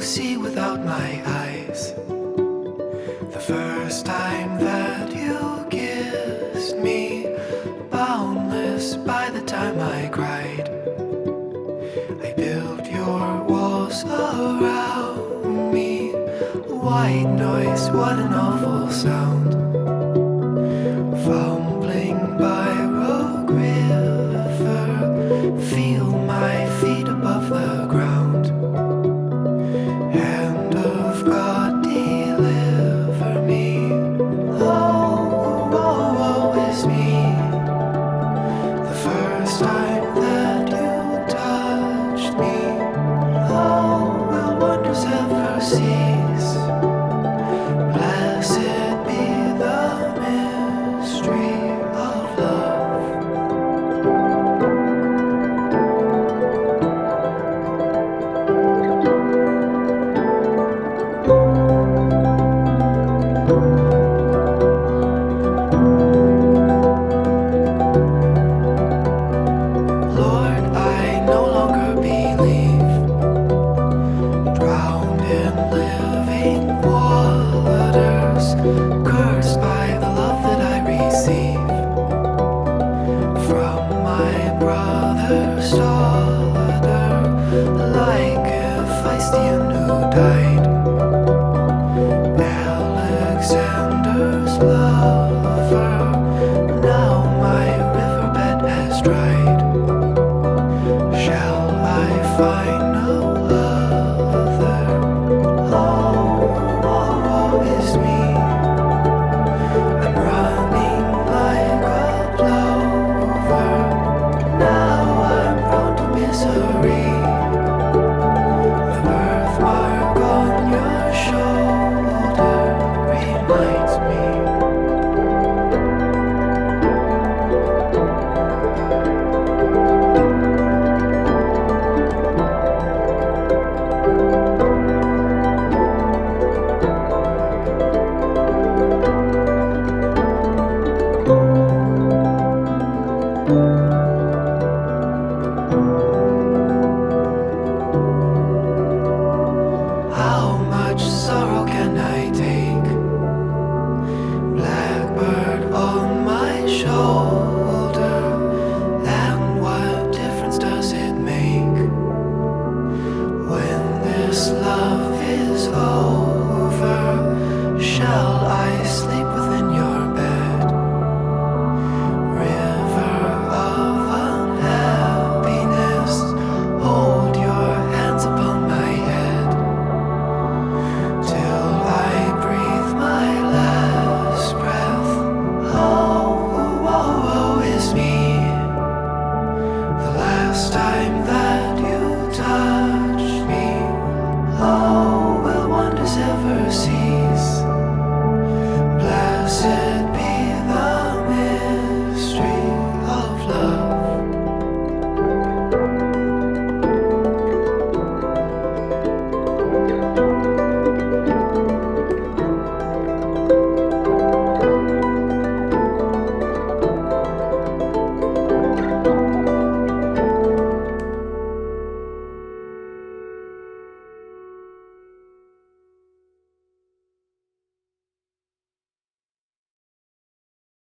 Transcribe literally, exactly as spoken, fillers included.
see without my eyes. The first time that you kissed me, boundless by the time I cried. I built your walls around me. White noise, what an awful sound. Fumbling by Rogue River, feel my feet above the ground. Hand of God, deliver me. Oh, woe, woe is me. The first time that you touched me, oh, will wonders ever cease? Blessed be the mystery of love. Lord, I no longer believe, drowned in living waters, cursed by the love that I receive from my brother's daughter, like Hephaestion who died, Alexander's lover. Now my riverbed has dried. Shall I find no other? Oh, woe, woe is me. I'm running like a plover. Now I'm prone to misery. The birthmark on your shoulder reminds me. How much sorrow can I take? Blackbird on my shoulder, and what difference does it make when this love is over? Shall I sleep within your bed? River of unhappiness, hold your hands upon my head till I breathe my last breath. Oh, woe, woe is me. The last time that you touched